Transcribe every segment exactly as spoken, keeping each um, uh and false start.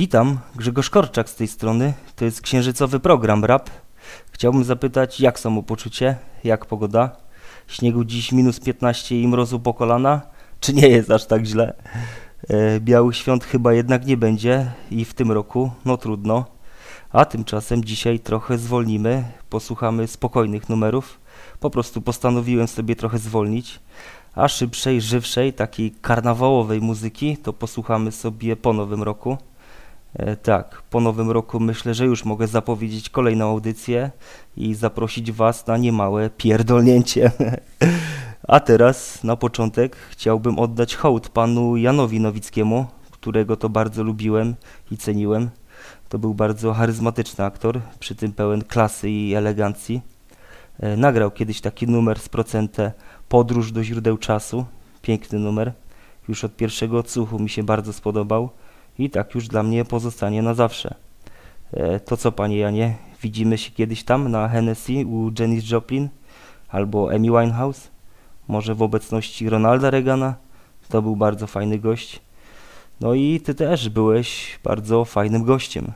Witam, Grzegorz Korczak z tej strony. To jest księżycowy program rap. Chciałbym zapytać, jak samopoczucie, jak pogoda? Śniegu dziś minus piętnaście i mrozu po kolana? Czy nie jest aż tak źle? E, białych świąt chyba jednak nie będzie i w tym roku, no trudno. A tymczasem dzisiaj trochę zwolnimy, posłuchamy spokojnych numerów. Po prostu postanowiłem sobie trochę zwolnić. A szybszej, żywszej, takiej karnawałowej muzyki to posłuchamy sobie po nowym roku. E, tak, po nowym roku myślę, że już mogę zapowiedzieć kolejną audycję i zaprosić Was na niemałe pierdolnięcie. A teraz na początek chciałbym oddać hołd panu Janowi Nowickiemu, którego to bardzo lubiłem i ceniłem. To był bardzo charyzmatyczny aktor, przy tym pełen klasy i elegancji. E, nagrał kiedyś taki numer z Procente, Podróż do źródeł czasu. Piękny numer. Już od pierwszego odsłuchu mi się bardzo spodobał i tak już dla mnie pozostanie na zawsze. E, to co, panie Janie, widzimy się kiedyś tam na Hennessy u Janis Joplin albo Amy Winehouse? Może w obecności Ronalda Reagana? To był bardzo fajny gość. No i ty też byłeś bardzo fajnym gościem.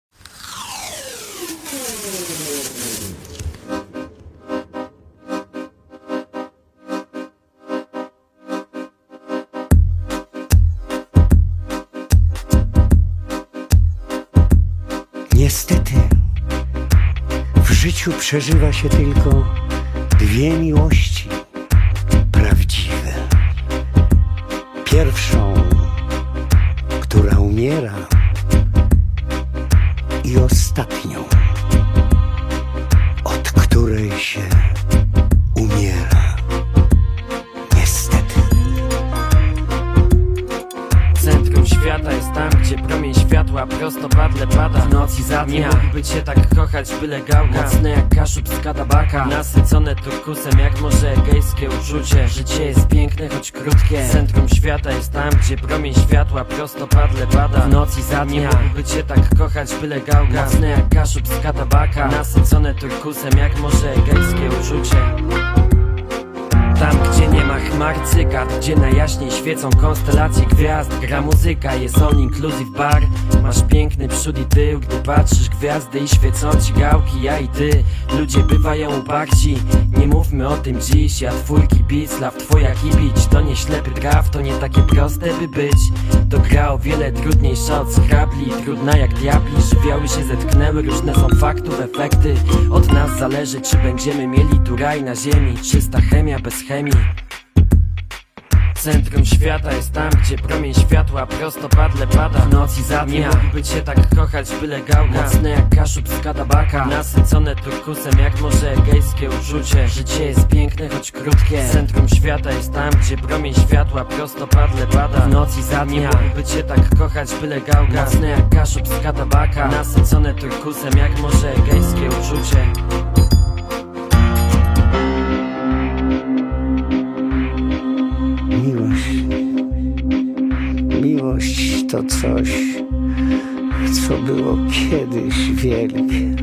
Niestety, w życiu przeżywa się tylko dwie miłości prawdziwe. Pierwszą, która umiera, i ostatnią, od której się umiera. Niestety. Centrum świata jest tam, gdzie promień światła prostopadle pada w nocy za dnia. Nie mógłby cię tak kochać, byle gałka. Mocne jak kaszub z kadabaka, nasycone turkusem jak morze egejskie uczucie. Życie jest piękne, choć krótkie. Centrum świata jest tam, gdzie promień światła prostopadle pada w nocy za dnia. Nie mógłby cię tak kochać, byle gałka. Mocne jak kaszub z kadabaka, nasycone turkusem jak morze egejskie uczucie. Tam, gdzie nie ma chmar, cykad, gdzie najjaśniej świecą konstelacje gwiazd. Gra muzyka, jest all inclusive bar. Masz piękny przód i tył, gdy patrzysz gwiazdy i świecą ci gałki, ja i ty. Ludzie bywają uparci, nie mówmy o tym dziś. Ja twój kibic, law twoja kibić. To nie ślepy traf, to nie takie proste by być. To gra o wiele trudniejsza od scrabli, trudna jak diabli. Żywioły się zetknęły, różne są faktów efekty. Od nas zależy, czy będziemy mieli tu raj na ziemi. Czysta chemia bez chemii. Centrum świata jest tam, gdzie promień światła prostopadle pada w nocy za dnia. Nie mógłby cię tak kochać, byle gałka. Mocne jak kaszub z kadabaka, nasycone turkusem jak morze egejskie uczucie. Życie jest piękne, choć krótkie. Centrum świata jest tam, gdzie promień światła prostopadle pada w nocy za dnia. Nie mógłby cię tak kochać, byle gałka. Mocne jak kaszub z kadabaka, nasycone turkusem jak morze egejskie uczucie. Miłość to coś, co było kiedyś wielkie,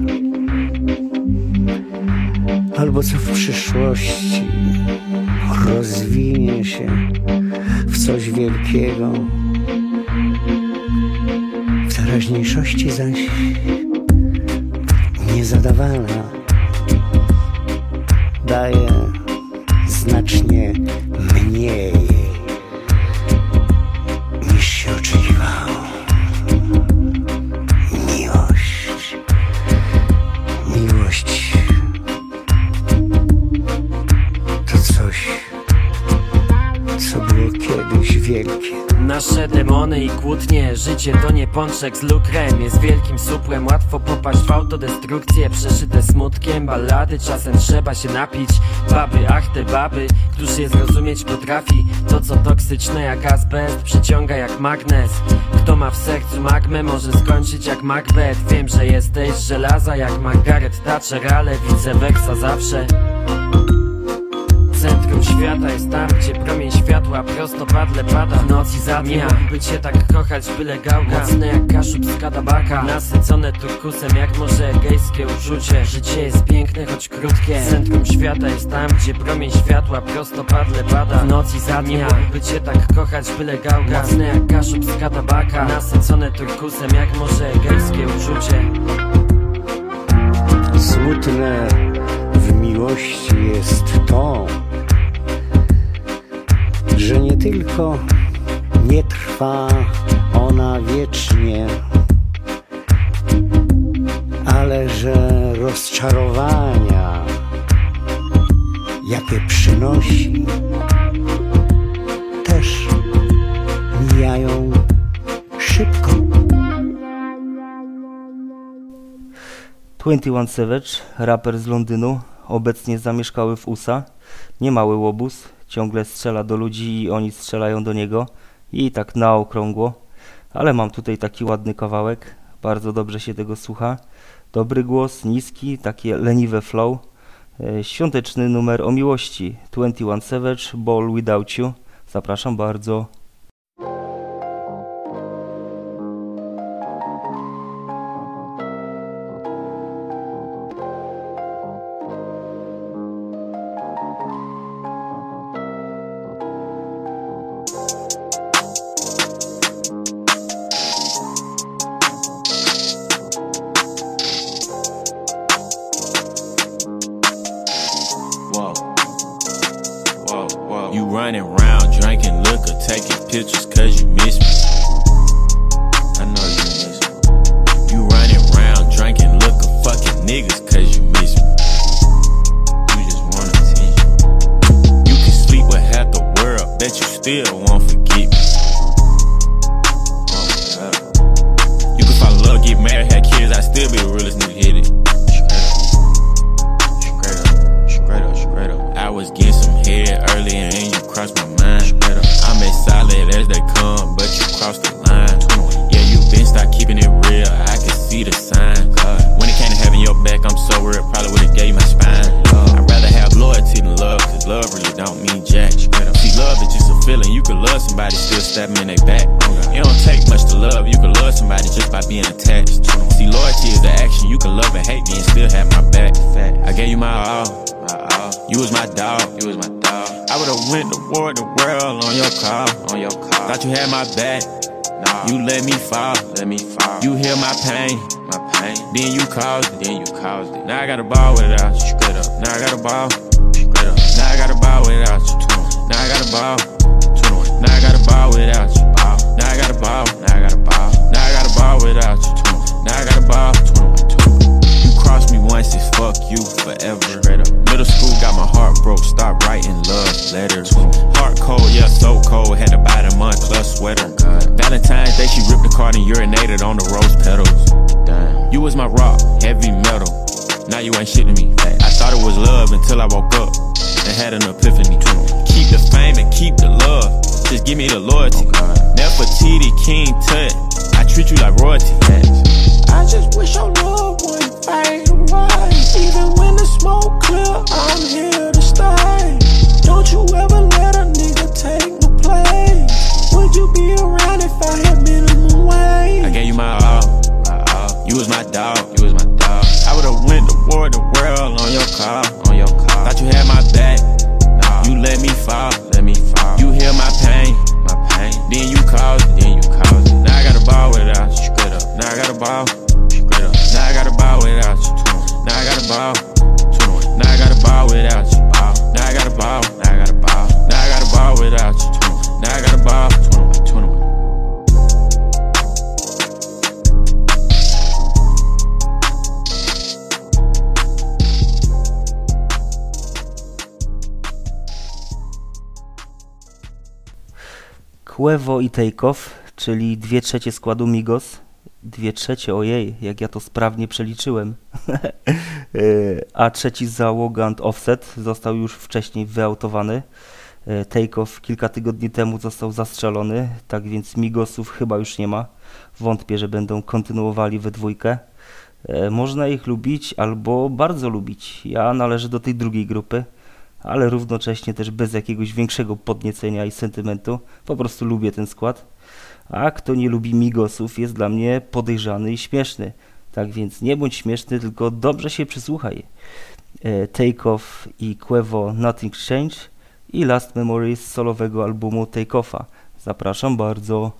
albo co w przyszłości rozwinie się w coś wielkiego. W teraźniejszości zaś niezadawana daje znacznie mniej niż się oczekiwało. Miłość, miłość to coś, co było kiedyś wielkie. Nasze demony i kłótnie, życie to nie pączek z lukrem. Jest wielkim supłem, łatwo popaść w autodestrukcję. Przeszyte smutkiem ballady, czasem trzeba się napić. Baby, ach te baby, któż je zrozumieć potrafi. To co toksyczne jak azbest, przyciąga jak magnes. Kto ma w sercu magmę, może skończyć jak Macbeth. Wiem, że jesteś żelaza jak Margaret Thatcher, ale vice versa zawsze. Centrum świata jest tam, gdzie promień światła prostopadle pada. W nocy za dnia, by cię tak kochać, byle gałka. Mocne jak kaszub z kadabaka, nasycone turkusem jak morze egejskie uczucie. Życie jest piękne, choć krótkie. Centrum świata jest tam, gdzie promień światła prostopadle pada. W nocy za dnia, by cię tak kochać, byle gałka. Mocne jak kaszub z kadabaka, nasycone turkusem jak morze egejskie uczucie. Smutne w miłości jest to, że nie tylko nie trwa ona wiecznie, ale że rozczarowania, jakie przynosi, też mijają szybko. dwadzieścia jeden Savage, raper z Londynu, obecnie zamieszkały w U S A. Niemały łobuz, ciągle strzela do ludzi i oni strzelają do niego. I tak na okrągło. Ale mam tutaj taki ładny kawałek, bardzo dobrze się tego słucha. Dobry głos, niski, takie leniwe flow. E, świąteczny numer o miłości. dwadzieścia jeden Savage, Ball Without You. Zapraszam bardzo. You running round drinking liquor, taking pictures cause you miss me. I know you miss me. You running round drinking liquor, fucking niggas cause you miss me. You just want attention. You can sleep with half the world, bet you still won't forget me. Oh my God. You can fall in love, get married, have kids, I still be the realest nigga hit it. Straight up, straight up, straight up. I was getting some head earlier and you crossed my mind. I'm as solid as they come, but you crossed the line. Yeah, you been start keeping it real, I can see the signs. When it came to having your back, I'm so real, probably would've gave you my spine. I'd rather have loyalty than love, cause love really don't mean jack. See, love is just a feeling, you can love somebody, still stab them in their back. It don't take much to love, you can love somebody just by being attached. See, loyalty is the action, you can love and hate me and still have my back. I gave you my all, you was my dog, you was my dog. I would've went to war the world on your call, on your call. Thought you had my back, nah. You let me fall, let me fall. You heal my pain, my pain. Then you caused it, then you caused it. Now I got a ball without you, straight up. Now I got a ball, straight up. Now I got a ball without you, now I got a ball, now I got a ball without you, now I got a ball, now I got a ball, now I got a ball without you, now I got a ball. You crossed me once, it's fuck you forever. Straight up. Middle school got my heart broke, start writing love letters. Heart cold, yeah, so cold, had to buy the month plus sweater. Valentine's Day, she ripped the card and urinated on the rose petals. Damn. You was my rock, heavy metal. Now you ain't shit to me. I thought it was love until I woke up and had an epiphany. Keep the fame and keep the love, just give me the loyalty. Nefertiti, King Tut, I treat you like royalty. I just wish your love wouldn't fade away. Even when the smoke clear, I'm here to stay. Don't you ever let a nigga take my place. Would you be around if I had minimum wage? I gave you my all, my all. You was my dog, you was my dog. I would've went to war the world on your car, on your car. Thought you had my back, nah. You let me fall, let me fall. You heal my pain, my pain. Then you caused it, then you caused it. Now I got a ball without you, straight up. Now I got a ball, straight up. Now I got a ball without you, now I got a ball. Now I got a ball without you. Now I got a ball. Now I got a ball. Now I got a ball without you. Now I got a ball. Quavo i Takeoff, czyli dwie trzecie składu Migos. Dwie trzecie, ojej, jak ja to sprawnie przeliczyłem. A trzeci załogant Offset został już wcześniej wyautowany. Takeoff kilka tygodni temu został zastrzelony, tak więc Migosów chyba już nie ma. Wątpię, że będą kontynuowali we dwójkę. Można ich lubić albo bardzo lubić. Ja należę do tej drugiej grupy. ale równocześnie też bez jakiegoś większego podniecenia i sentymentu. Po prostu lubię ten skład. A kto nie lubi Migosów, jest dla mnie podejrzany i śmieszny. Tak więc nie bądź śmieszny, tylko dobrze się przysłuchaj. E, Take Off i Quavo Nothing Change i Last Memories z solowego albumu Take Offa. Zapraszam bardzo.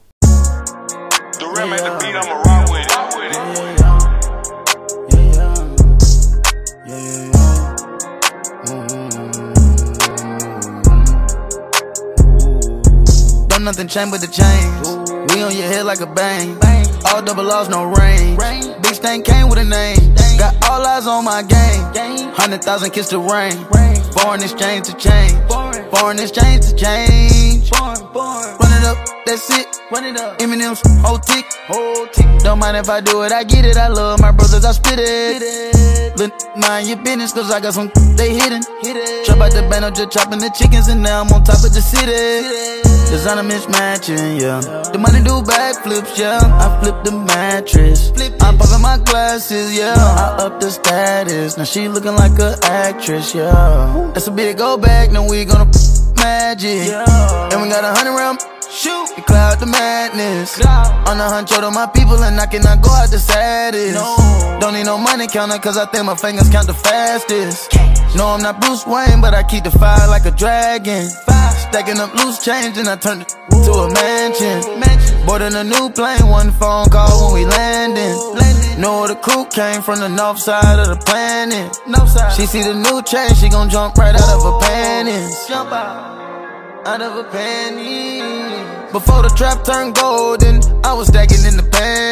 Nothing change but the change. We on your head like a bang. All double loss, no range. Big stain came with a name. Got all eyes on my game. Hundred thousand kiss the rain. Foreign exchange to change. Foreign exchange to change. Run it up, that's it. Run it up. Eminem's whole tick. Don't mind if I do it, I get it. I love my brothers, I spit it. Look, mind your business, cause I got some they hidden. Trap out the band, I'm just chopping the chickens, and now I'm on top of the city. Designer mismatching, yeah. The money do backflips, yeah. I flip the mattress. I'm popping my glasses, yeah. I up the status. Now she looking like an actress, yeah. That's a big old bag, now we gonna magic. And we got a hundred round. Shoot, you cloud the madness. On the hunt, to my people, and I cannot go out the saddest. Don't need no money counter, cause I think my fingers count the fastest. No, I'm not Bruce Wayne, but I keep the fire like a dragon. Stacking up loose change, and I turned it to a mansion. Boarding a new plane, one phone call when we landing. Know the crew came from the north side of the planet. She see the new change, she gon' jump right out of her panties. Jump out. Out of a penny. Before the trap turned golden, I was stacking in the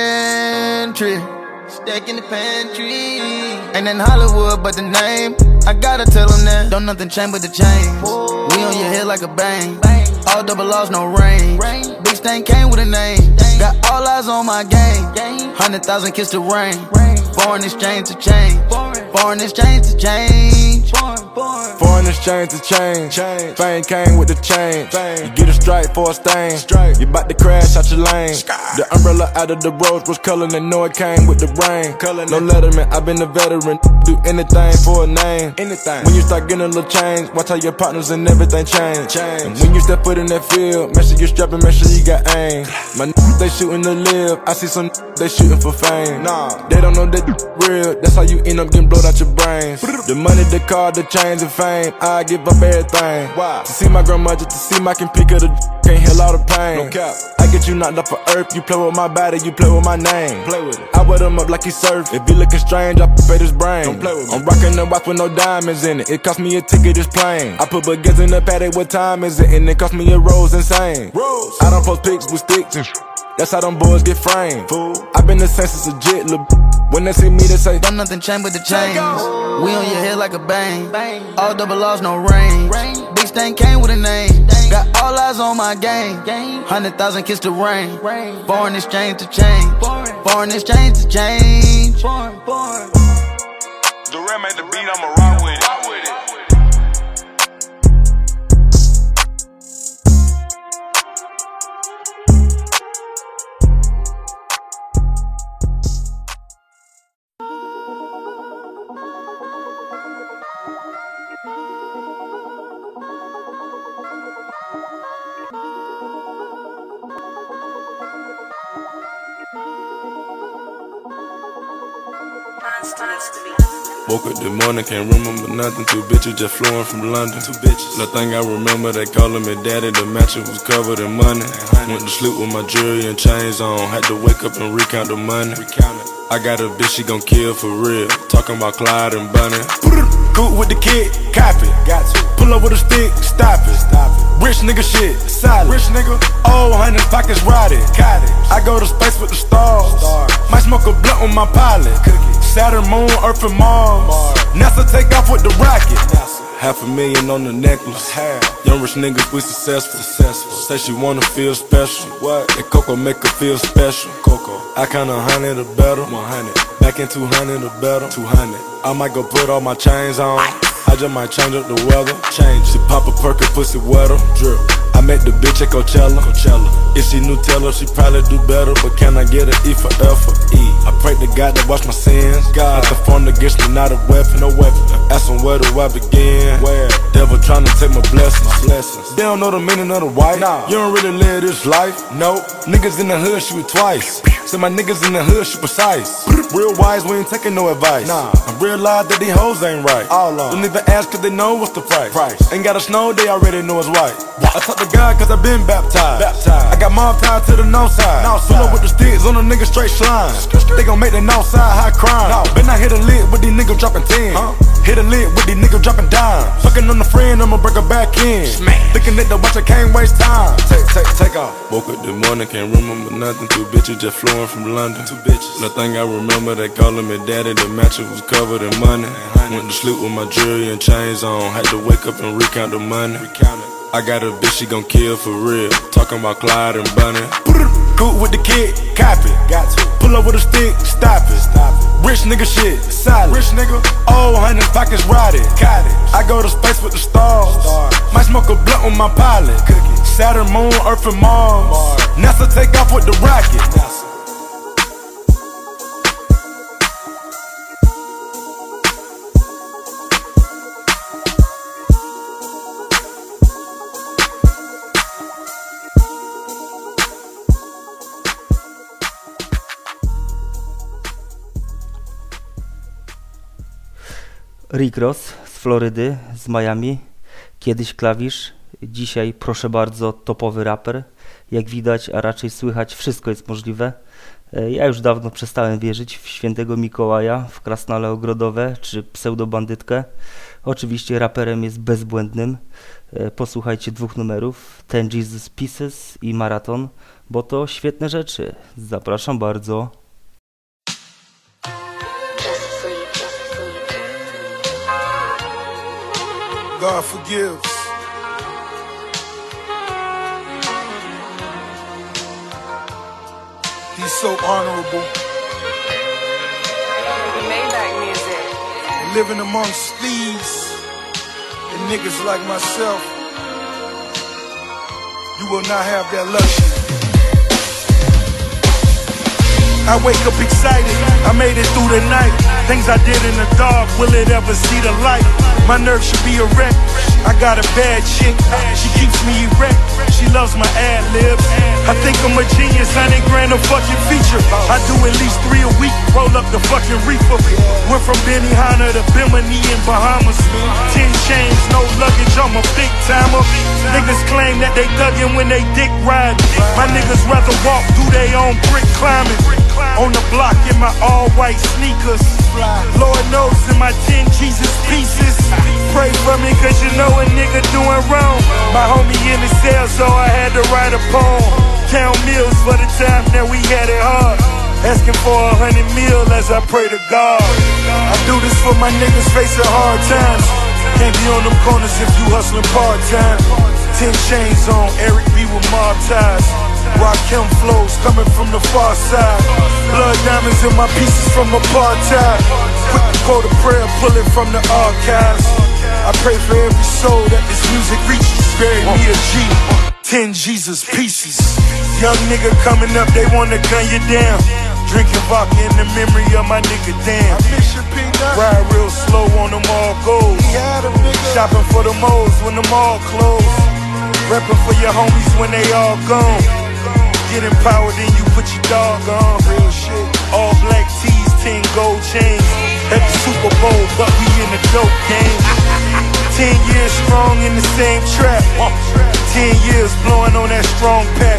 pantry. Stacking the pantry. Ain't in Hollywood, but the name, I gotta tell them that. Don't nothing change but the change. We on your head like a bang. All double loss, no range. Big stain came with a name. Got all eyes on my game. Hundred thousand kiss the rain. Foreign exchange to change. Foreign exchange to change. Foreign exchange to change. Fame came with the change. You get a stripe for a stain. You bout to crash out your lane. The umbrella out of the rose was color, and know it came with the rain. No letterman, I been a veteran. Do anything for a name. When you start getting a little change, watch how your partners and everything change. And when you step foot in that field, make sure you strapping, make sure you got aim. My n***s, they shooting to live. I see some n***s, they shooting for fame. Nah, they don't know that real. That's how you end up getting blowed out your brains. The money, the car, the chains and fame, I give up everything. Wow. To see my grandmother, to see my can pick of the can't heal all the pain. No cap. I get you knocked off of earth. You play with my body, you play with my name. Play with it. I wet him up like he surf. If he looking strange, I fade his brain. Don't play with me. I'm rocking the watch with no diamonds in it. It cost me a ticket, this plane. I put baguettes in the paddock, what time is it? And it cost me a rose insane. Rose. I don't post pics with sticks and that's how them boys get framed. Fool. I been the same since a jit, lil' when they see me, they say don't nothing change but the change. We on your head like a bang. All double loss, no range. Big stain came with a name. Got all eyes on my game. Hundred thousand kiss the rain. Foreign exchange to change. Foreign exchange to change. Durant made the beat, I'ma rock with it. Woke up this morning, can't remember nothing. Two bitches just flew in from London. Two bitches. The thing I remember, they calling me daddy. The mattress was covered in money. Went to sleep with my jewelry and chains on. Had to wake up and recount the money. I got a bitch, she gon' kill for real. Talking about Clyde and Bunny. Cool with the kid, copy. Got to. Pull up with a stick, stop it. Stop it. Rich nigga shit, solid. Rich nigga. Oh, hundred pockets rotted. Cottage. I go to space with the stars. Stars. Might smoke a blunt on my pilot. Cookie. Saturn, Moon, Earth, and Mars. Mars. NASA take off with the rocket. NASA. Half a million on the necklace. Half. Young rich niggas, we successful. successful. Say she wanna feel special. What? That Coco make her feel special. Coco. I count a hundred or better. One hundred. Back in two hundred or better. Two hundred. I might go put all my chains on. I just might change up the weather. Change. She pop a perk and pussy wetter. Drip. I met the bitch at Coachella. Coachella. If she Nutella, she probably do better. But can I get an E for effort? E. I pray to God to wash my sins. God, not to form against me, not a weapon. No weapon. Ask him where do I begin? Where? Devil tryna take my blessings. blessings. They don't know the meaning of the white. Nah. You don't really live this life. Nope. Niggas in the hood shoot twice. Say my niggas in the hood shoot precise. Real wise, we ain't taking no advice. Nah. I realize that these hoes ain't right. All on. Don't even ask cause they know what's the price. price. Ain't gotta snow, they already know it's white. I talk to God cause I been baptized. baptized. I got mom tied to the north side. North side. Pull up with the sticks on the nigga straight slime. They gon' make the north side high crime. No. Been I hit a lick with these niggas dropping ten. Huh? Hit a lick with these niggas dropping dimes. Fucking on the friend, I'ma break her back in. Smack. Thinking that the watch I can't waste time. Take, take, take off. Woke up this morning, can't remember nothing. Two bitches just flowing from London. Two bitches. Nothing I remember, they calling me daddy. The mattress was covered in money. Went to sleep with my jewelry and chains on. Had to wake up and recount the money. Recount it. I got a bitch, she gon' kill for real. Talking about Clyde and Bunny. Cool with the kid, copy. Got to pull up with a stick, stop it. Stop it. Rich nigga shit, solid. Rich nigga, oh, hundred pockets rotted. Cottage. I go to space with the stars. Stars. Might smoke a blunt with my pilot. Cookie. Saturn, Moon, Earth, and Mars. Mars. NASA take off with the rocket. NASA. Rick Ross z Florydy, z Miami, kiedyś klawisz, dzisiaj proszę bardzo topowy raper. Jak widać, a raczej słychać, wszystko jest możliwe. Ja już dawno przestałem wierzyć w świętego Mikołaja, w krasnale ogrodowe czy pseudobandytkę. Oczywiście raperem jest bezbłędnym. Posłuchajcie dwóch numerów, Ten Jesus Pieces i Maraton, bo to świetne rzeczy. Zapraszam bardzo. God forgives. He's so honorable. Maybach music. Living amongst thieves and niggas like myself, you will not have that luxury. I wake up excited, I made it through the night. Things I did in the dark, will it ever see the light? My nerves should be erect. I got a bad chick, she keeps me erect. She loves my ad-libs. I think I'm a genius, hundred grand a fucking feature. I do at least three a week, roll up the fucking reefer. Went from Benihana to Bimini in Bahamas. Ten chains, no luggage, I'm a big timer. Niggas claim that they thuggin' when they dick ride. My niggas rather walk, do they own brick climbing. On the block in my all-white sneakers. Lord knows in my ten Jesus pieces. Pray for me cause you know a nigga doing wrong. My homie in the cell so I had to write a poem. Count meals for the time that we had it hard. Asking for a hundred mil as I pray to God. I do this for my niggas facing hard times. Can't be on them corners if you hustling part-time. Ten chains on, Eric B with mob ties. Rakim flows coming from the far side. Blood diamonds in my pieces from apartheid. Quick to quote a prayer, pull it from the archives. I pray for every soul that this music reaches. Bury me a G, ten Jesus pieces. Young nigga coming up, they wanna gun you down. Drinking vodka in the memory of my nigga damn. Ride real slow on them all goals. Shopping for the moles when them all closed. Reppin' for your homies when they all gone. Get empowered and you put your dog on. Real shit. All black tees, ten gold chains. At the Super Bowl, but we in the dope game. Ten years strong in the same trap. Ten years blowing on that strong pack.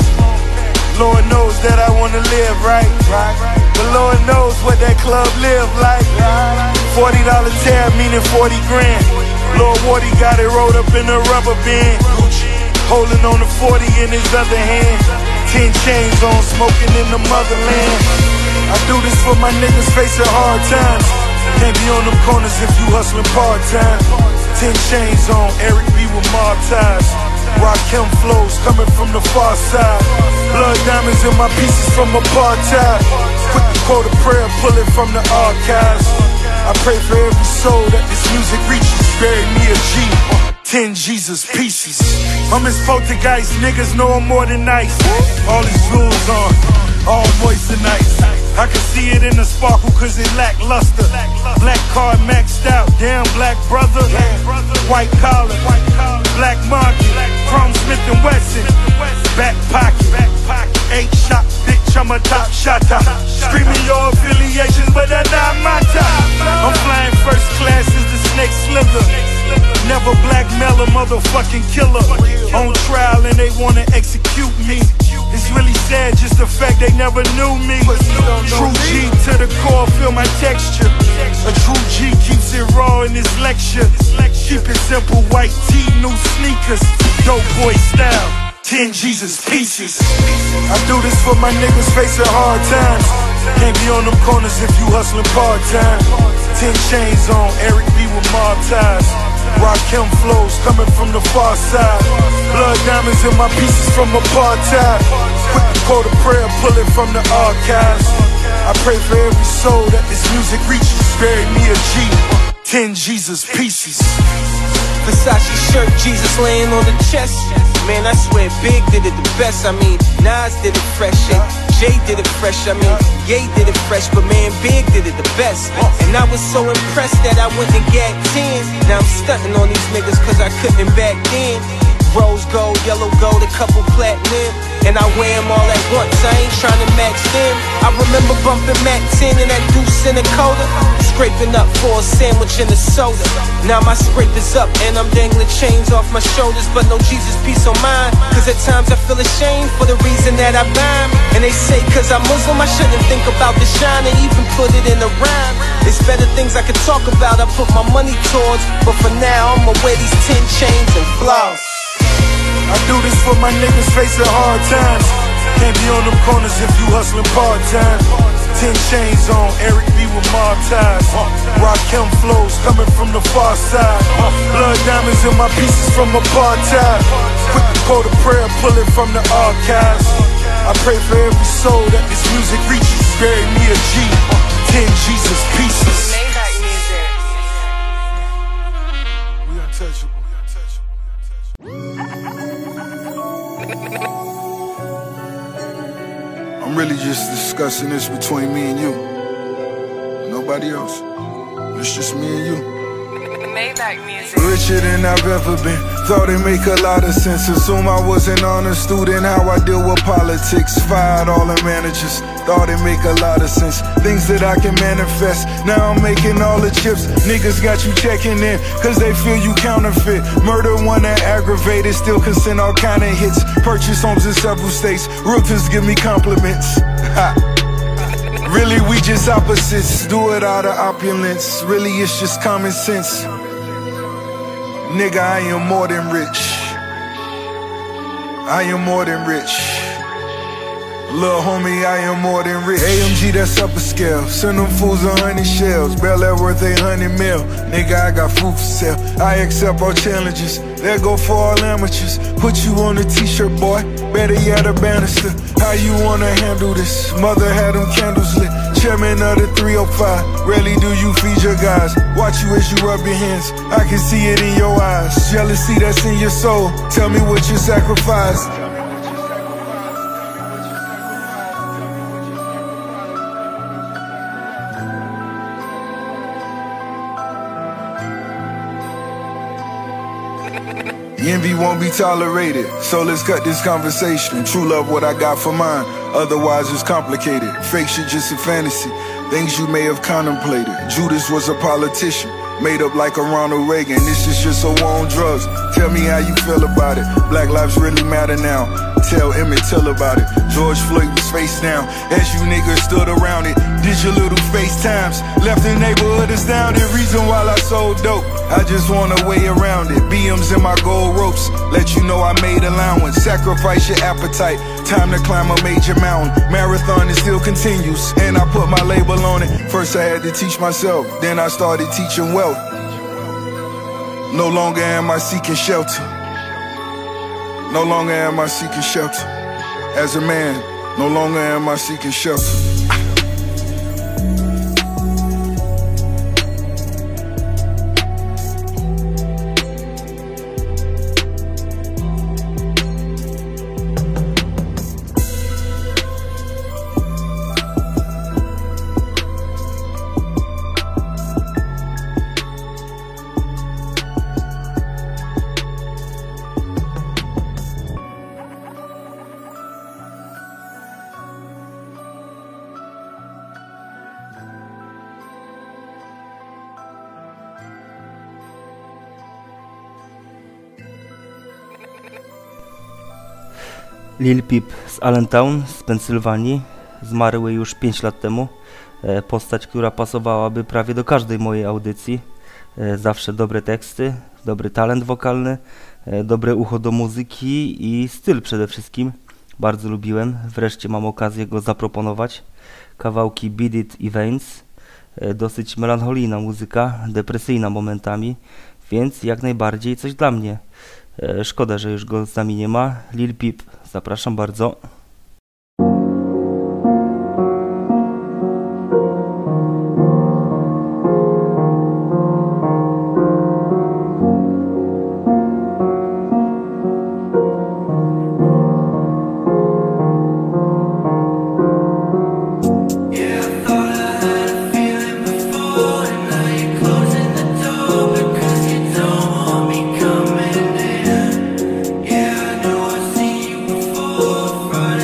Lord knows that I wanna live right. But Lord knows what that club live like. Forty dollar tab meaning forty grand. Lord Wardy got it rolled up in a rubber band. Holding on the forty in his other hand. Ten chains on, smoking in the motherland. I do this for my niggas facing hard times. Can't be on them corners if you hustling part-time. Ten chains on, Eric B with mob ties. Rakim flows coming from the far side. Blood diamonds in my pieces from apartheid. Quick to quote a prayer, pull it from the archives. I pray for every soul that this music reaches. Bury me a G, ten Jesus pieces. I'm his poltergeist, niggas know I'm more than nice. All his jewels on, all moist and nice. I can see it in the sparkle cause it lackluster. Black card maxed out, damn black brother. White collar, Black market, Chrome Smith and Wesson, back pocket, eight shot, bitch, I'm a top shotter. Screaming your affiliations, but that's not my top. I'm flying first class as the snake slither. Never blackmail a motherfucking killer. On trial and they wanna execute me. It's really sad, just the fact they never knew me. True G to the core, feel my texture. A true G keeps it raw in this lecture. Keep it simple, white tee, new sneakers. Dope boy style, ten Jesus pieces. I do this for my niggas facing hard times. Can't be on them corners if you hustling part-time. Ten chains on, Eric B with mob ties. Rakim flows coming from the far side. Blood diamonds in my pieces from apartheid. Quick to quote a prayer, pull it from the archives. I pray for every soul that this music reaches. Bury me a G, ten Jesus pieces. Versace shirt, Jesus laying on the chest. Man, I swear Big did it the best. I mean, Nas did it fresh, and Jay did it fresh. I mean, Ye did it fresh, but man, Big did it the best. And I was so impressed that I went and gagged ten. Now I'm stunting on these niggas cause I couldn't back then. Rose gold, yellow gold, a couple platinum, and I wear them all at once, I ain't tryna match them. I remember bumping Mac ten and that Deuce in a coda, scraping up for a sandwich and a soda. Now my scrape is up and I'm dangling chains off my shoulders, but no Jesus peace on mine. Cause at times I feel ashamed for the reason that I rhyme. And they say cause I'm Muslim I shouldn't think about the shine and even put it in a rhyme. It's better things I could talk about, I put my money towards, but for now I'ma wear these ten chains and floss. I do this for my niggas facing hard times. Can't be on them corners if you hustling part-time. Ten chains on, Eric B with mob ties. Rakim flows coming from the far side. Blood diamonds in my pieces from apartheid. Quick to quote a prayer, pull it from the archives. I pray for every soul that this music reaches. Bury me a G, ten Jesus pieces. We untouchable. I'm really just discussing this between me and you. Nobody else. It's just me and you. Richer than I've ever been. Thought it make a lot of sense. Assume I was an honor student. How I deal with politics. Fired all the managers. Thought it make a lot of sense. Things that I can manifest. Now I'm making all the chips. Niggas got you checking in cause they feel you counterfeit. Murder one that aggravated. Still can send all kind of hits. Purchase homes in several states. Realtors give me compliments. Ha. Really we just opposites. Do it out of opulence. Really it's just common sense. Nigga, I am more than rich. I am more than rich. Lil' homie, I am more than rich. A M G, that's upper scale. Send them fools a hundred shells. Bel Air worth a hundred mil. Nigga, I got food for sale. I accept all challenges. Let go for all amateurs. Put you on a t-shirt, boy. Better yet, a banister. How you wanna handle this? Mother had them candles lit. Chairman of the three oh five. Rarely do you feed your guys. Watch you as you rub your hands. I can see it in your eyes. Jealousy that's in your soul. Tell me what you sacrificed. Envy won't be tolerated, so let's cut this conversation. True love what I got for mine, otherwise it's complicated. Fake shit just a fantasy, things you may have contemplated. Judas was a politician, made up like a Ronald Reagan. This is just a war on drugs, tell me how you feel about it. Black lives really matter now, tell Emmett Till about it. George Floyd was face down, as you niggas stood around it. Did your little FaceTimes, left the neighborhood astounded. Reason why I sold dope, I just want a way around it. B Ms in my gold ropes, let you know I made allowance. Sacrifice your appetite, time to climb a major mountain. Marathon it still continues, and I put my label on it. First I had to teach myself, then I started teaching wealth. No longer am I seeking shelter. No longer am I seeking shelter. As a man, no longer am I seeking shelter. Lil Peep z Allentown z Pensylwanii, zmarły już pięć lat temu. Postać, która pasowałaby prawie do każdej mojej audycji. Zawsze dobre teksty, dobry talent wokalny, dobre ucho do muzyki i styl przede wszystkim. Bardzo lubiłem, wreszcie mam okazję go zaproponować. Kawałki Beat It i Veins, dosyć melancholijna muzyka, depresyjna momentami, więc jak najbardziej coś dla mnie. Szkoda, że już go z nami nie ma. Lil Peep, zapraszam bardzo. Right.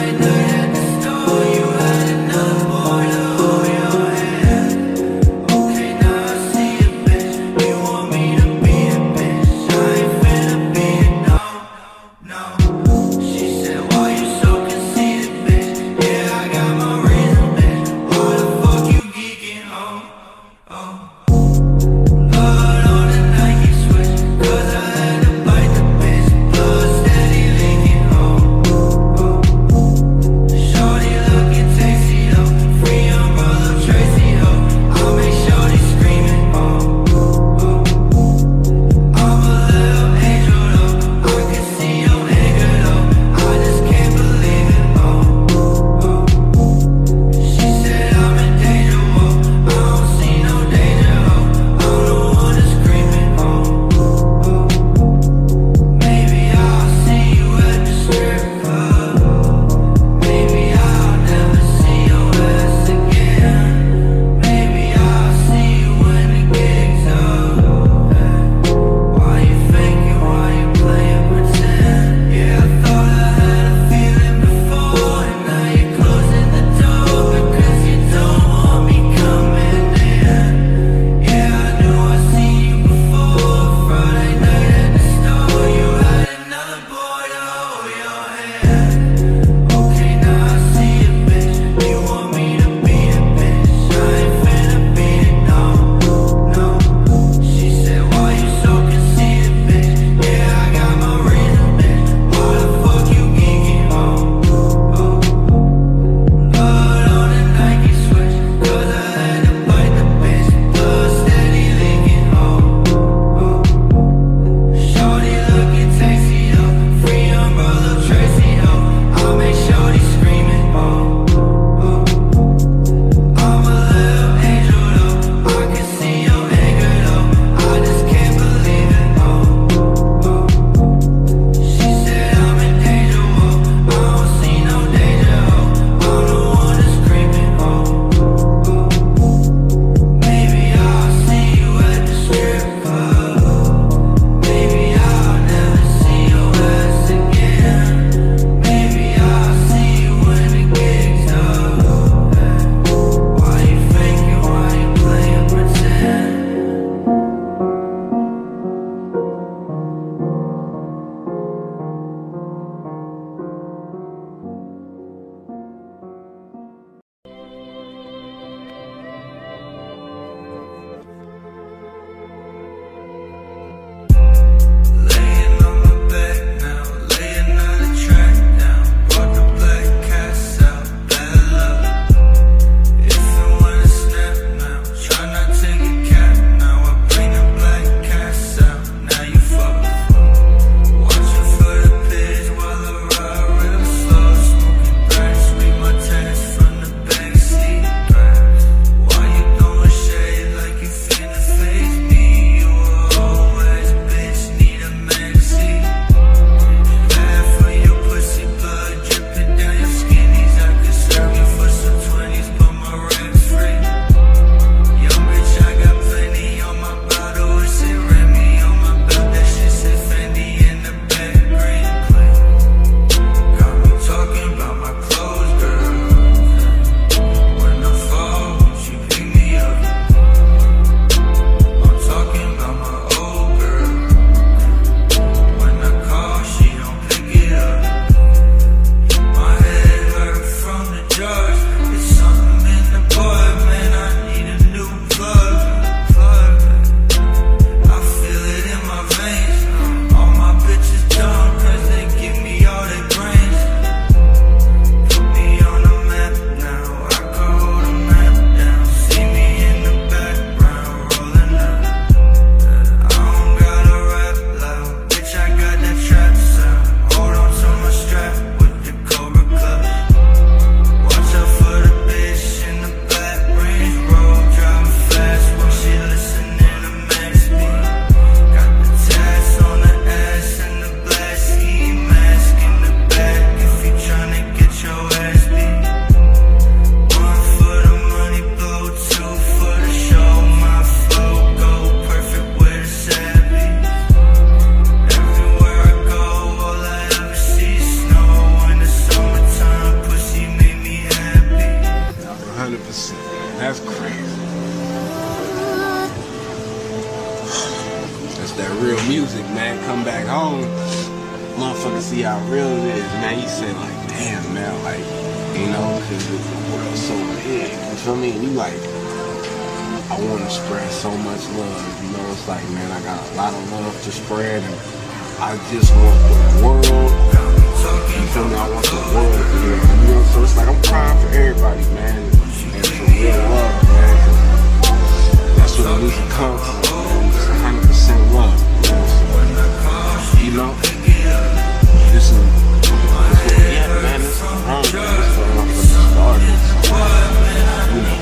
motherfuckers see how real it is, man, you say like, damn, man, like, you know, cause the world's so big, you feel me? And you like, I want to spread so much love, you know, it's like, man, I got a lot of love to spread, and I just want the world, you feel me, I want the world to hear, you know, so it's like, I'm crying for everybody, man, and for real love, man, that's where the music comes from, man, it's one hundred percent love, you know, so, you know, this is, this is where we at, man, this is wrong, man, this is where I'm fucking started, so, you know.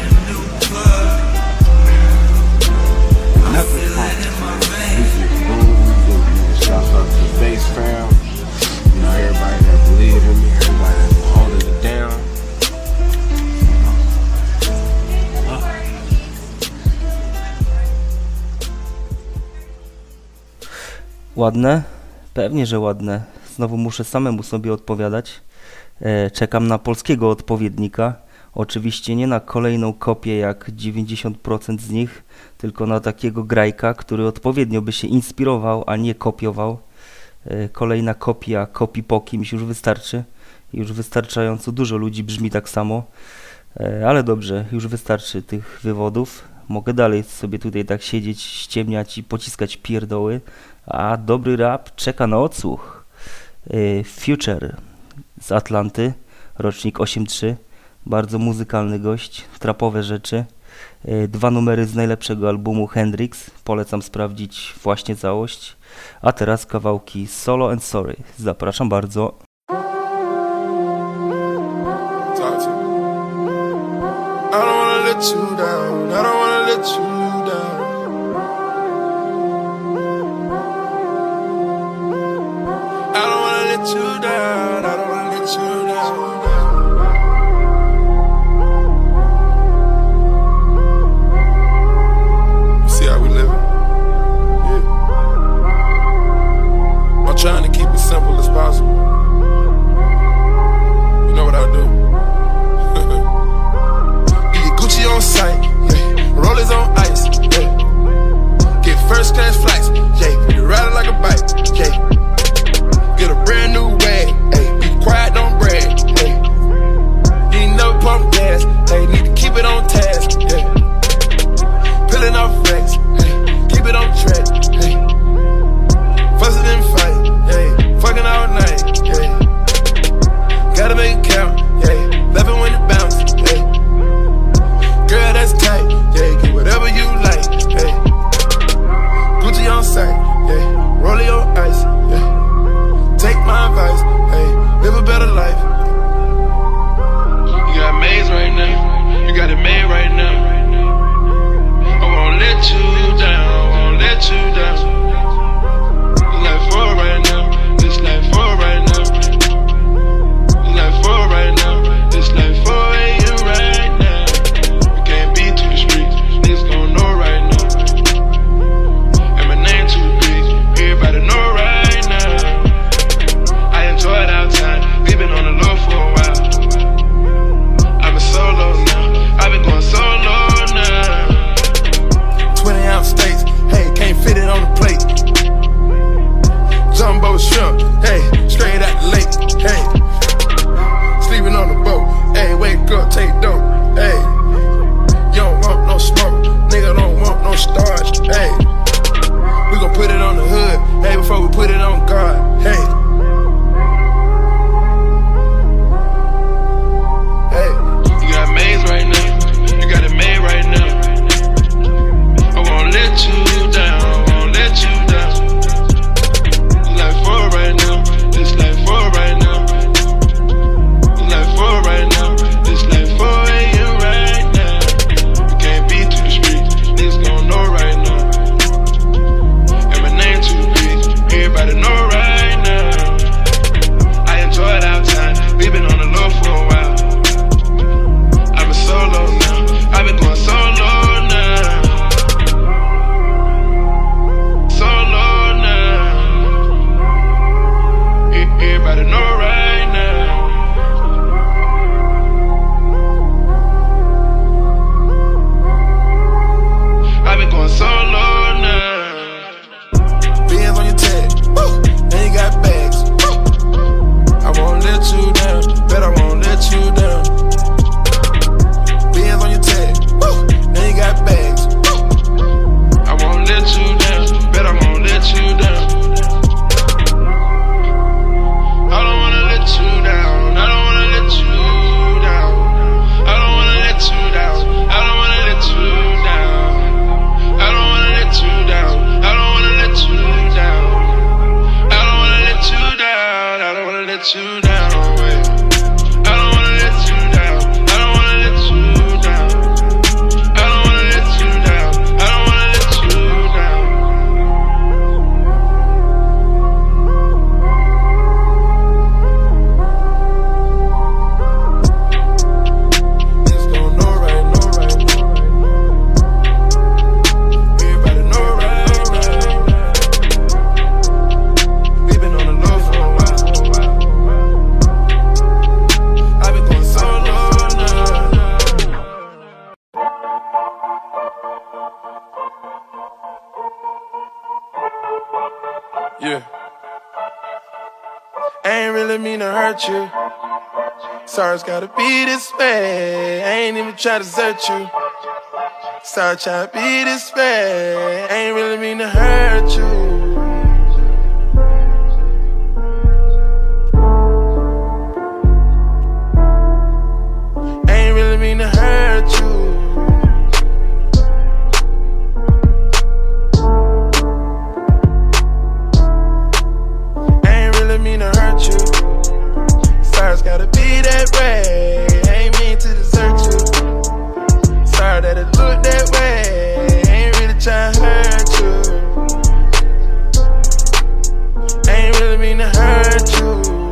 Nothing wrong. Music boom, shout out to the bass fam. You know, everybody that believe in me, everybody that's holding it down. Ładne? Pewnie, że ładne. Znowu muszę samemu sobie odpowiadać. E, czekam na polskiego odpowiednika. Oczywiście nie na kolejną kopię jak dziewięćdziesiąt procent z nich, tylko na takiego grajka, który odpowiednio by się inspirował, a nie kopiował. Kolejna kopia kopii po kimś już wystarczy. Już wystarczająco dużo ludzi brzmi tak samo. Ale dobrze, już wystarczy tych wywodów. Mogę dalej sobie tutaj tak siedzieć, ściemniać i pociskać pierdoły. A dobry rap czeka na odsłuch. Future z Atlanty, rocznik osiem trzy. Bardzo muzykalny gość, trapowe rzeczy. Dwa numery z najlepszego albumu Hendrix. Polecam sprawdzić właśnie całość. A teraz kawałki Solo and Sorry. Zapraszam bardzo. Trying to keep it simple as possible. You know what I do? Get Gucci on sight, yeah. Rollers on ice, yeah. Get first class flights, yeah. Ride it like a bike, yeah. Get a brand new wag, hey. Be quiet, don't brag, hey. You ain't never pump gas, hey. Need to keep it on task, yeah. Peeling off flex, hey. Keep it on track, hey. Fussing and fight, yeah. Fucking all night, yeah. Gotta make it count, yeah. Laughing when it bounce, yeah. Girl, that's tight, yeah. Get whatever you like, yeah. Gucci on sight, yeah. Rollie on ice, yeah. Take my advice, hey. Live a better life. You got maze right now, you got it made right now. I won't let you down, I won't let you down. Life for right now, this life for right now. This life for right now, this life for you right now. We can't be to the streets, niggas gon' know right now. And my name too big, everybody know right now. I enjoyed our time, we been on the low for a while. I've been solo now, I've been going solo now. Twenty ounce steaks, hey, can't fit it on the plate. Jumbo shrimp, hey, straight out the lake, hey. Sleeping on the boat, hey, wake up, take dope, hey. You don't want no smoke, nigga don't want no starch, hey. We gon' put it on the hood, hey, before we put it on guard, hey. Hey, you got maze right now, you got it made right now. I won't let you down, I won't let you down. This life for right now, this ain't really mean to hurt you. Sorry, it's gotta be this way. I ain't even try to desert you. Sorry, try to be this way. I ain't really mean to hurt you. Ain't really mean to hurt you. Ain't really mean to hurt you. Sorry, it's gotta be that way. Ain't mean to desert you. Sorry that it looked that way. Ain't really trying to hurt you. Ain't really mean to hurt you.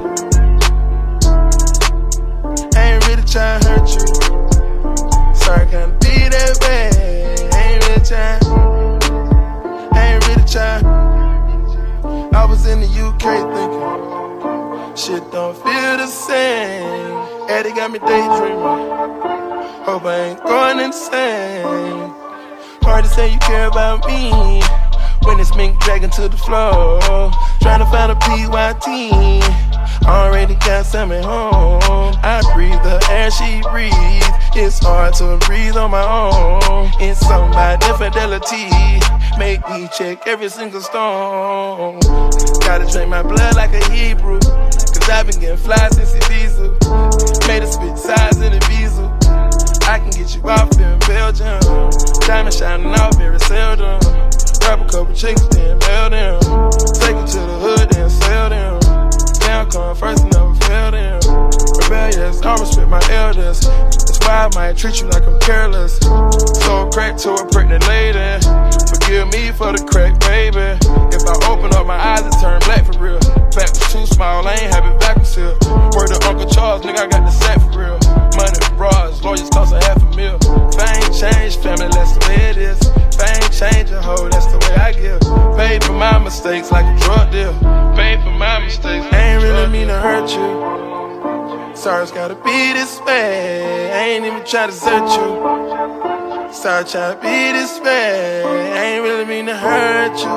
Ain't really trying to hurt you. Sorry, gotta be that way. Ain't really trying. Ain't really trying. I was in the U K thinking shit don't feel the same. Eddie got me daydreaming. Hope I ain't going insane. Hard to say you care about me when it's mink dragging to the floor. Trying to find a P Y T. Already got some at home. I breathe the air she breathes. It's hard to breathe on my own. It's something about infidelity. Make me check every single stone. Gotta drink my blood like a Hebrew. Cause I've been getting fly since Ibiza. Made a spit size in Ibiza. I can get you off in Belgium. Diamond shining off very seldom. Grab a couple chicks, then bail them. Take them to the hood, then sell them. Down come first, never fail them. Rebellious, I respect my elders. That's why I might treat you like I'm careless. So crack to a pregnant lady. Forgive me for the crack, baby. If I open up my eyes, it turn black for real. Back was too small, I ain't have it backwards here. Word to Uncle Charles, nigga, I got the sack for real. Money, bras, lawyers cost a half a mil. Fame change, family, that's the way it is. Fame change a hoe, that's the way I give. Paid for my mistakes like a drug deal. Paid for my mistakes. Ain't really mean to hurt you. Sorry, it's gotta be this way. I ain't even try to desert you. Sorry, try to be this way. Ain't really mean to hurt you.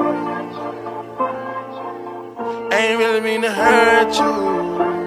Ain't really mean to hurt you.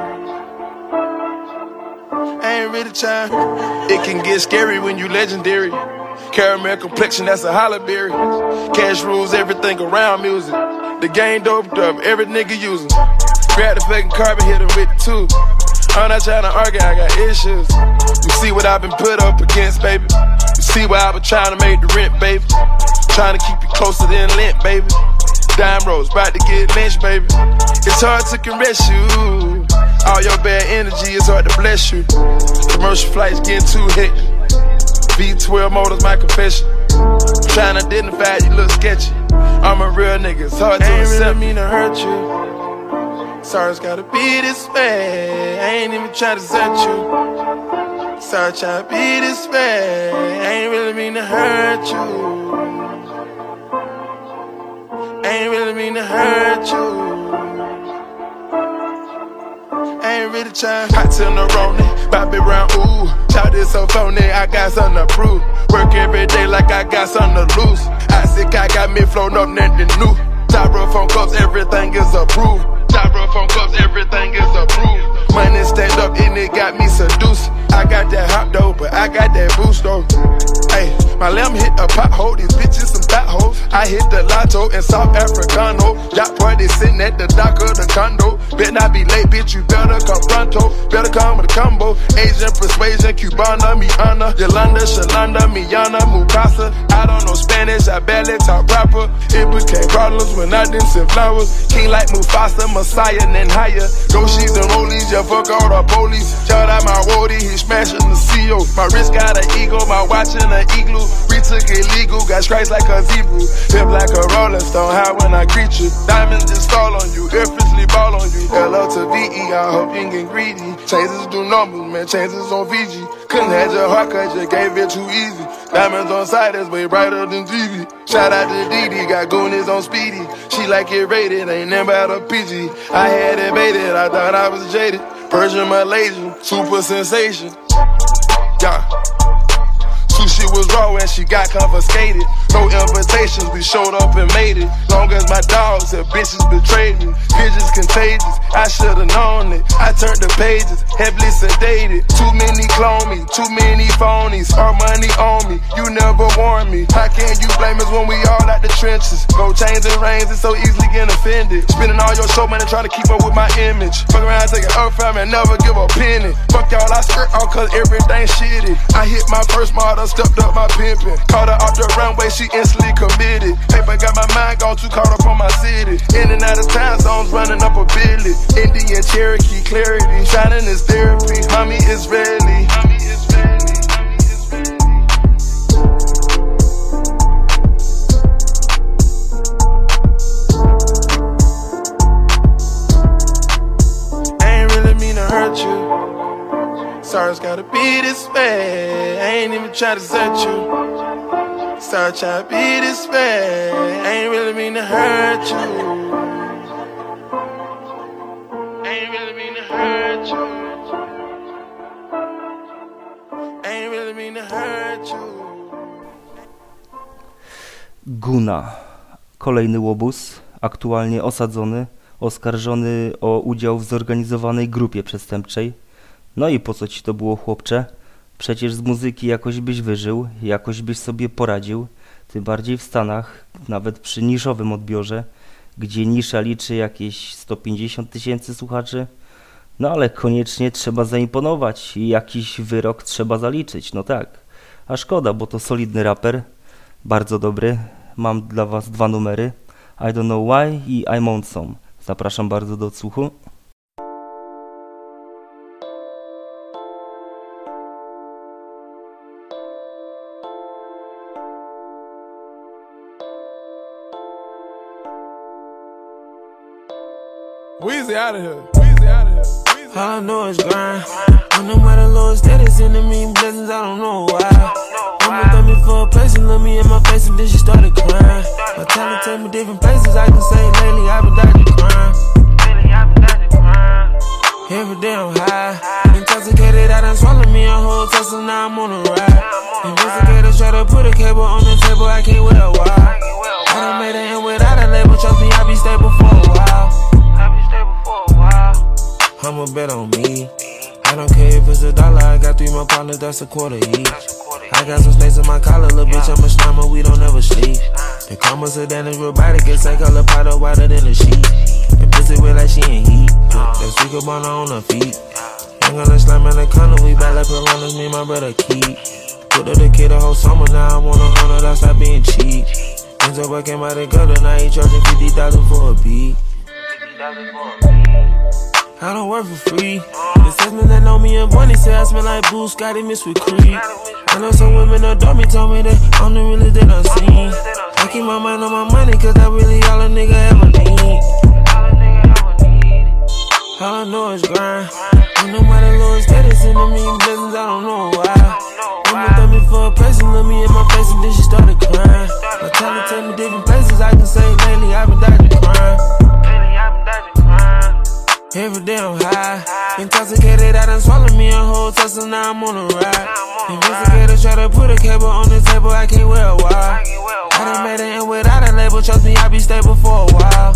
Ain't really trying. It can get scary when you legendary. Caramel complexion, that's a holla berry. Cash rules everything around music. The game doped up, every nigga using. Grab the fucking carpet, hit him with the two. I'm not trying to argue, I got issues. You see what I've been put up against, baby. You see what I've been trying to make the rent, baby. Trying to keep you closer than lint, baby. Dime rolls, about to get lynched, baby. It's hard to caress you. All your bad energy is hard to bless you. Commercial flights getting too hectic. V twelve motors, my confession. Trying to identify, you look sketchy. I'm a real nigga, it's hard to accept. Ain't really mean to hurt you. Sorry, it's gotta be this way. I ain't even try to desert you. Sorry, try to be this way. I ain't really mean to hurt you. Ain't really mean to hurt you. Ain't really trying. Hot till the Roni, Bobby Brown, ooh. Shout this so phony, I got something to prove. Work every day like I got something to lose. I sick, I got me flown up, nothing new. Styrofoam cups, everything is approved. Styrofoam cups, everything is approved. Money stacked up and it got me seduced. I got that hot dough, but I got that boost though. Hey, my lamb hit a pothole, these bitches some potholes. I hit the lotto in South Africano. Yacht party sitting at the dock of the condo. Bet not be late, bitch, you better come pronto. Better come with a combo. Asian persuasion, Cubana, Miana, Yolanda, Shalanda, Miana, Mukasa. I don't know Spanish, I barely talk proper. It became problems when I didn't send flowers. King like Mufasa, Messiah, and higher. Yoshis and rollies, yeah, fuck all the police. Shout out my roadie, he smashing the C O. My wrist got an ego, my watch in an igloo. Retook illegal, got stripes like a zebra. Pimp like a rolling stone, high when I greet you. Diamonds just fall on you, effortlessly ball on you. L O to V E, I hope you ain't get greedy. Changes do numbers, man, changes on Fiji. Couldn't have your heart cause you gave it too easy. Diamonds on side, that's way brighter than T V. Shout out to Didi, got goonies on Speedy. She like it rated, ain't never out of P G. I had it baited, I thought I was jaded. Persian Malaysian, super sensation. Yeah. Two shit was raw and she got confiscated. No invitations, we showed up and made it. Long as my dogs and bitches betrayed me. Pigeons contagious, I should've known it. I turned the pages, heavily sedated. Too many clone me, too many phonies. Our money on me, you never warned me. How can you blame us when we all out the trenches? Go chains and reins and so easily getting offended. Spending all your show money trying to keep up with my image. Fuck around taking earth fam and never give a penny. Fuck y'all, I skirt all cause everything shitty. I hit my first model, stepped up my pimpin'. Caught her off the runway, she instantly committed. Paper got my mind gone too caught up on my city. In and out of time zones, running up a billy. Indian Cherokee, clarity, shining is therapy. Mommy is ready. Mommy is ready. Hurt you. Sorry, it's gotta be this way. I ain't even try to set you. Sorry, try to be this way. I ain't really mean to hurt you. I ain't really mean to hurt you. I ain't really mean to hurt you. Guna. Kolejny łobuz, aktualnie osadzony, oskarżony o udział w zorganizowanej grupie przestępczej. No i po co ci to było, chłopcze? Przecież z muzyki jakoś byś wyżył, jakoś byś sobie poradził, tym bardziej w Stanach, nawet przy niszowym odbiorze, gdzie nisza liczy jakieś sto pięćdziesiąt tysięcy słuchaczy. No ale koniecznie trzeba zaimponować i jakiś wyrok trzeba zaliczyć, no tak. A szkoda, bo to solidny raper, bardzo dobry. Mam dla was dwa numery, I Don't Know Why i I'm On Some. Zapraszam bardzo do odsłuchu. Weezy out of here. Weezy out of here. All I know is grind. I know why the Lord steady sending me blessings, I don't know why. Mama threw me for a place and looked me in my face and then she started crying. My talent take me different places, I can say lately I've been dodging crime. Every day I'm high, intoxicated, I done swallowed me a whole Tesla, now I'm on a ride. Investigators try to put a cable on the table, I can't with a wire. I done made it in without a label, trust me, I'll be stable for a while. I'll be stable for a while. I'ma bet on me. I don't care if it's a dollar, I got three more partners, that's a quarter each. I got some snakes in my collar, little bitch, I'm a slimer, we don't ever sleep. The karma sedan is robotic, it's like color powder whiter than a sheet. The pussy wet like she ain't heat, that speaker burner on her feet. Ain't gonna slam in the corner, we back like piranhas, me and my brother keep. Put up the kid the whole summer, now I want a hundred, I stop being cheap. Ends up working by the gutter, now he charging fifty thousand for a beat. I don't work for free. The salesman that know me and Bonnie say I smell like Boo Scotty mixed with Creed. I know some women adore me, told me that I'm the realest that I've seen. I keep my mind on my money, cause that's really all a nigga ever need. All I know is grind. I know why the Lord steady sending me blessings, I don't know why. Mama threw me for a place and looked me in my face and then she started crying. My talent take me different places, I can say lately I've been dodging crime. Every day I'm high, intoxicated, I done swallowed me a whole Tesla, now I'm on a ride. Investigators try to put a cable on the table, I can't wear a wire. I done made it in without a label, trust me, I'll be stable for a while.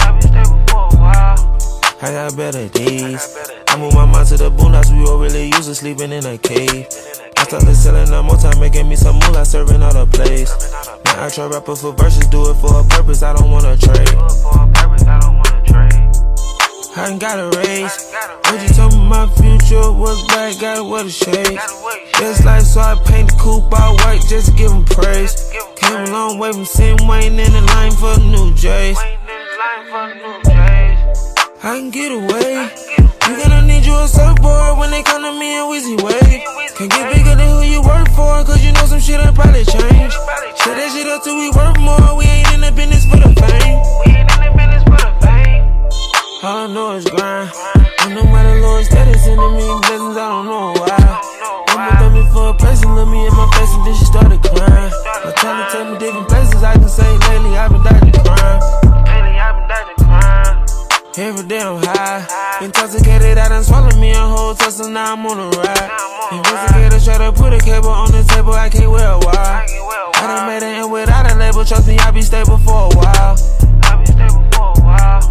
I got better days. I moved my mind to the boondocks, we were really used to sleeping in a cave. I started selling up more time, making me some moolah, serving all the place. Now I try rapper for verses, do it for a purpose, I don't wanna trade. I ain't got a raise. But you told me my future was bright, gotta wear the shades. Just like so I paint the coupe all white just to give them praise. Came a long way from Sim Wayne in the line for the new J's. I can get away. You gonna need you a surfboard when they come to me in Weezy Wave. Can't get bigger than who you work for, cause you know some shit will probably change. Shut that shit up till we work more, we ain't in the business for the fame. All I know is grind. I know why the Lord steady sending me blessings, I don't know why. Mama threw me for a place and looked me in my face and then she started crying. My talent take me different places, I can say lately I've been dodging crime. every day I'm high. Intoxicated, I done swallowed me a whole tussle, now I'm on a ride. Investigators try to put a cable on the table, I can't wear a wire. I done made it in without a label, trust me, I'll be stable for a while. I'll be stable for a while.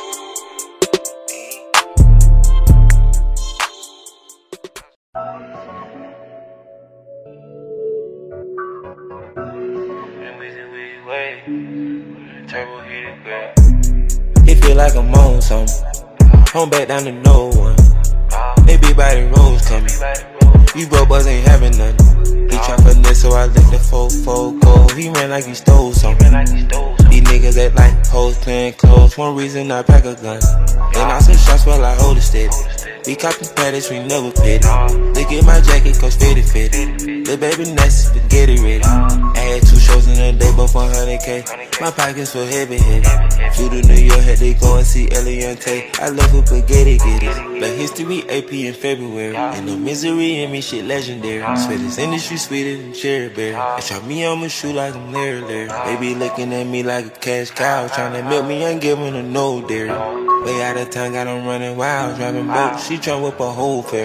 It feel like I'm on something. Home back down to no one. They be by the roads coming. You broke boys ain't having nothing. He try finesse, so I let the fofo go. He ran like he stole something. These niggas act like hoes playing close. One reason I pack a gun. And I some shots while I hold it steady. We copy patties, we never pity. Look at my jacket, cause fitted fitted. The baby nasty, spaghetti ready. I had two shows in a day, both one hundred K. My pockets were heavy heavy. Flew to New York, had to go and see Eliante. I love her spaghetti get it. Black history, A P in February. And no misery in me, shit legendary. Swear this industry sweeter than cherry berry. They try me on my shoe like I'm Larry Larry. They be looking at me like a cash cow, trying to milk me, ain't giving her no dairy. Way out of town, got them running wild, driving boats. She tryna whip a whole ferry.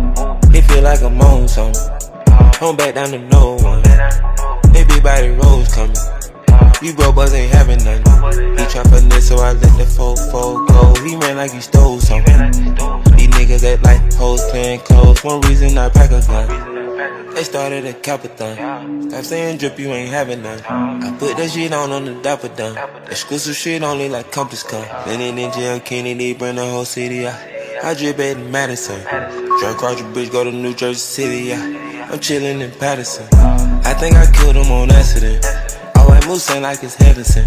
It feel like I'm on something. Home back down to no one. They be by the roads coming. You broke boys ain't having nothing. He try finesse, so I let the fofo go. He ran like he stole something. These niggas act like hoes playing close. One reason I pack a gun. They started a capathon. Stop saying drip, you ain't having none. I put that shit on on the dapper done. Exclusive shit only like Compass come. Then in jail, Kennedy, bring the whole city out. I drip at Madison. Drive across the bridge, go to New Jersey City, yeah. I'm chillin' in Patterson. I think I killed him on accident. All white moose ain't like it's heaven sent.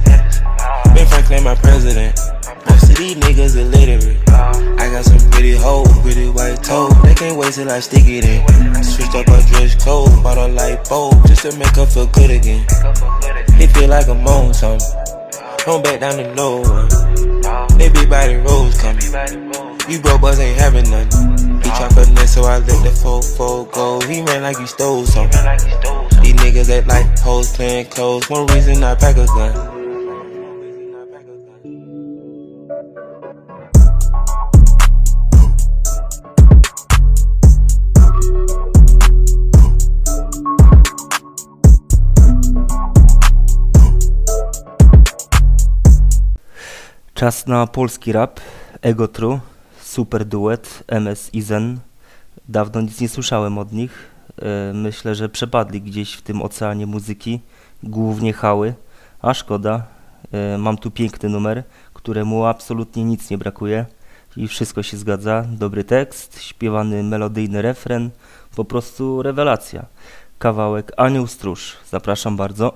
Ben Franklin, my president. Most of these niggas illiterate. I got some pretty hoes, pretty white toes. They can't wait till I stick it in. Switched up our dress code, bought a light bulb just to make her feel good again. It feel like I'm on something. Home back down to no one. They be by the roads coming. You broke boys ain't having nothing. He try finesse, so I let the fofo go. He ran like he stole something. These niggas act like hoes playing close. One reason I pack a gun. Czas na polski rap. Ego True, super duet, M S i Zen. Dawno nic nie słyszałem od nich. Myślę, że przepadli gdzieś w tym oceanie muzyki, głównie hały, a szkoda. Mam tu piękny numer, któremu absolutnie nic nie brakuje i wszystko się zgadza. Dobry tekst, śpiewany melodyjny refren, po prostu rewelacja. Kawałek Anioł Stróż. Zapraszam bardzo.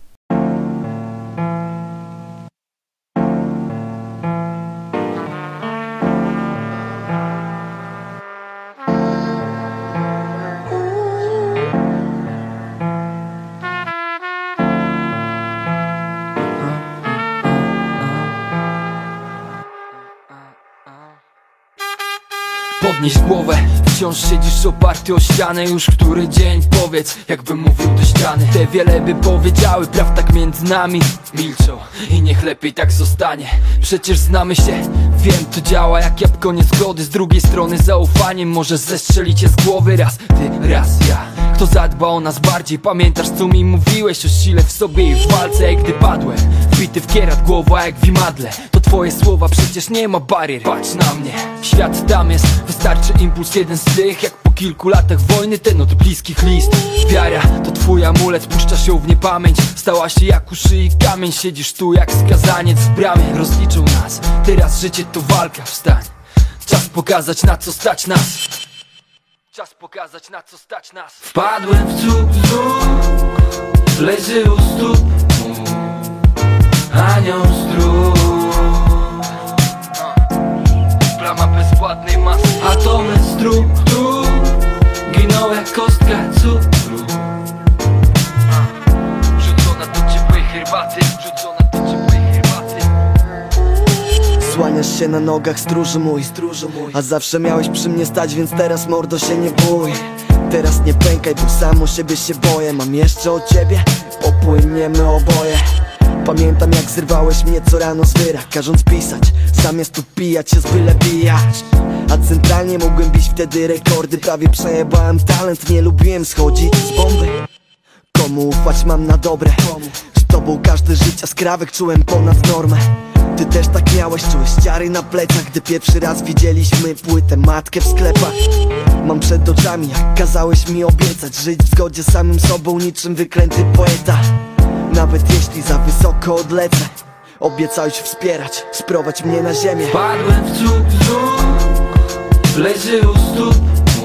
Podnieś głowę, wciąż siedzisz oparty o ścianę. Już który dzień powiedz, jakbym mówił do ściany. Te wiele by powiedziały, praw tak między nami milczą i niech lepiej tak zostanie. Przecież znamy się, wiem to działa jak jabłko niezgody. Z drugiej strony zaufaniem może zestrzelicie z głowy. Raz ty, raz ja. Kto zadba o nas bardziej? Pamiętasz co mi mówiłeś o sile w sobie i w walce, jak gdy padłem wbity w kierat, głowa jak w imadle. To twoje słowa, przecież nie ma barier. Patrz na mnie, świat tam jest. Wystarczy impuls jeden z tych, jak po kilku latach wojny ten od bliskich list. Wiara to twój amulet, puszczasz ją w niepamięć. Stała się jak u szyi kamień. Siedzisz tu jak skazaniec w bramie. Rozliczą nas, teraz życie to walka. Wstań, czas pokazać na co stać nas. Czas pokazać na co stać nas. Wpadłem w cud znów, leży u stóp anioł stróż. Plama bezpłatnej masy. Atomy struktur giną jak kostka cukru. Rzucona do ciepłej herbaty. Rzucona do ciepłej herbaty. Słaniasz się na nogach, stróżu mój, stróżu mój. A zawsze miałeś przy mnie stać, więc teraz mordo się nie bój. Teraz nie pękaj, bo sam o siebie się boję. Mam jeszcze o ciebie, popłyniemy oboje. Pamiętam jak zrywałeś mnie co rano z wyra, każąc pisać, zamiast upijać się z byle bijać. A centralnie mogłem bić wtedy rekordy. Prawie przejebałem talent, nie lubiłem schodzić z bomby. Komu ufać mam na dobre? Z tobą każde życia skrawek czułem ponad normę. Ty też tak miałeś, czułeś ciary na plecach, gdy pierwszy raz widzieliśmy płytę matkę w sklepach. Mam przed oczami jak kazałeś mi obiecać, żyć w zgodzie z samym sobą niczym wyklęty poeta. Nawet jeśli za wysoko odlecę, obiecałeś wspierać, sprowadź mnie na ziemię. Padłem w cud, cud, leży u stóp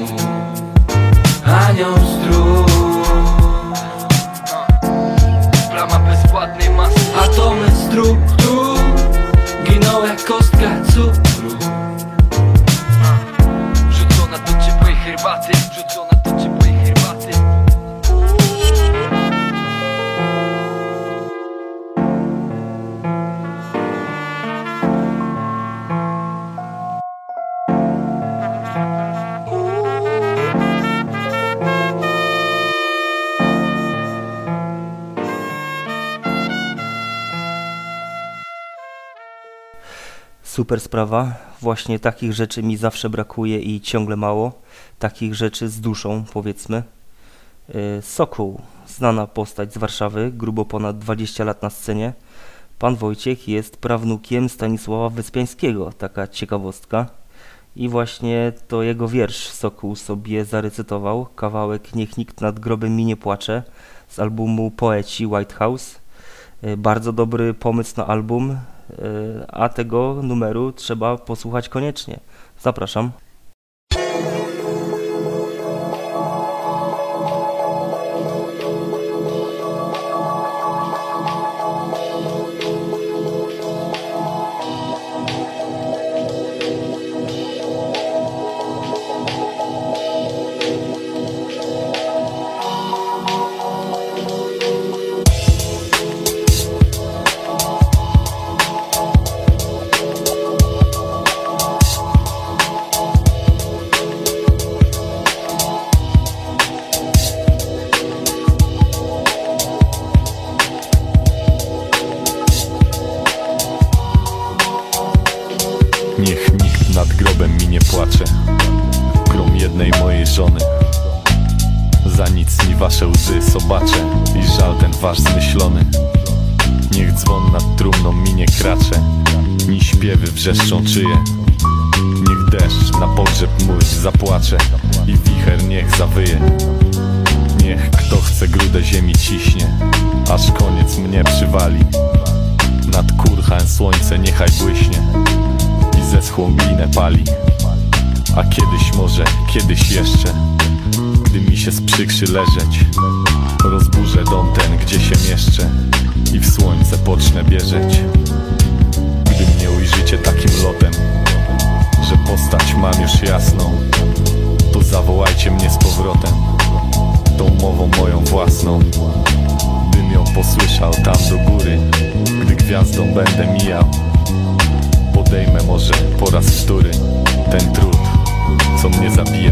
anioł strój. Plama bezpłatnej masy, atomy struktur giną jak kostka cukru. Rzucona do ciepłej herbaty, rzucona do ciepłej herbaty. Super sprawa, właśnie takich rzeczy mi zawsze brakuje i ciągle mało, takich rzeczy z duszą, powiedzmy. Sokół, znana postać z Warszawy, grubo ponad dwadzieścia lat na scenie. Pan Wojciech jest prawnukiem Stanisława Wyspiańskiego, taka ciekawostka. I właśnie to jego wiersz Sokół sobie zarecytował, kawałek Niech nikt nad grobem mi nie płacze z albumu Poeci White House. Bardzo dobry pomysł na album, a tego numeru trzeba posłuchać koniecznie. Zapraszam. Niech nikt nad grobem mi nie płacze, grom jednej mojej żony. Za nic ni wasze łzy sobacze i żal ten wasz zmyślony. Niech dzwon nad trumną mi nie kracze, ni śpiewy wrzeszczą czyje. Niech deszcz na pogrzeb mój zapłacze i wicher niech zawyje. Niech kto chce grudę ziemi ciśnie, aż koniec mnie przywali. Nad kurchem słońce niechaj błyśnie i zeschłą glinę pali. A kiedyś może, kiedyś jeszcze, gdy mi się sprzykrzy leżeć, rozburzę dom ten, gdzie się mieszczę i w słońce pocznę bieżeć. Gdy mnie ujrzycie takim lotem, że postać mam już jasną, to zawołajcie mnie z powrotem, tą mową moją własną. Bym ją posłyszał tam do góry, gdy gwiazdą będę mijał. Podejmę może po raz wtóry ten trud, co mnie zabijał.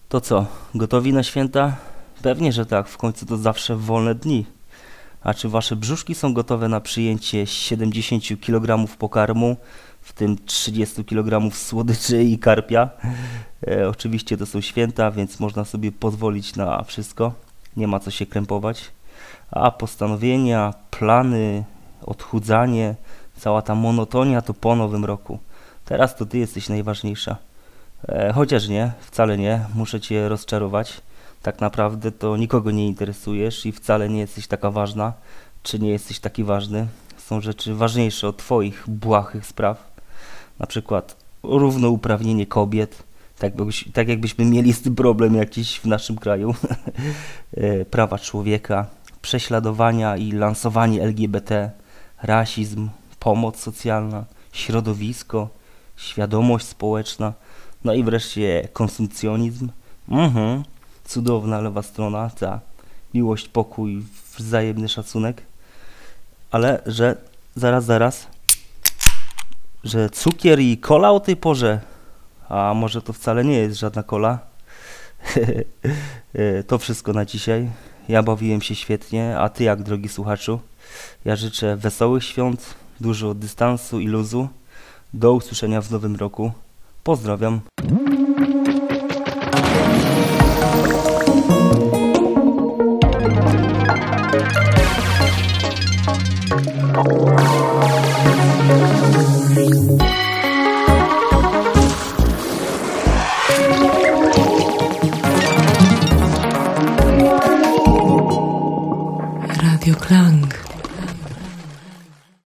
To co, gotowi na święta? Pewnie, że tak, w końcu to zawsze wolne dni. A czy wasze brzuszki są gotowe na przyjęcie siedemdziesiąt kilogramów pokarmu, w tym trzydzieści kilogramów słodyczy i karpia? E, oczywiście to są święta, więc można sobie pozwolić na wszystko. Nie ma co się krępować. A postanowienia, plany, odchudzanie, cała ta monotonia to po nowym roku. Teraz to ty jesteś najważniejsza. E, chociaż nie, wcale nie, muszę cię rozczarować. Tak naprawdę to nikogo nie interesujesz i wcale nie jesteś taka ważna, czy nie jesteś taki ważny. Są rzeczy ważniejsze od twoich błahych spraw. Na przykład równouprawnienie kobiet, tak, byś, tak jakbyśmy mieli z tym problem jakiś w naszym kraju. Prawa człowieka, prześladowania i lansowanie L G B T, rasizm, pomoc socjalna, środowisko, świadomość społeczna, no i wreszcie konsumpcjonizm. Mhm. Cudowna lewa strona, ta miłość, pokój, wzajemny szacunek, ale że zaraz, zaraz, że cukier i kola o tej porze, a może to wcale nie jest żadna kola. To wszystko na dzisiaj. Ja bawiłem się świetnie, a ty jak, drogi słuchaczu? Ja życzę wesołych świąt, dużo dystansu i luzu. Do usłyszenia w nowym roku. Pozdrawiam. Oh,